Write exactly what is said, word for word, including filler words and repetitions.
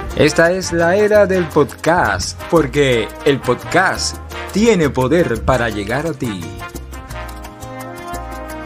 Esta es la era del podcast, porque el podcast tiene poder para llegar a ti.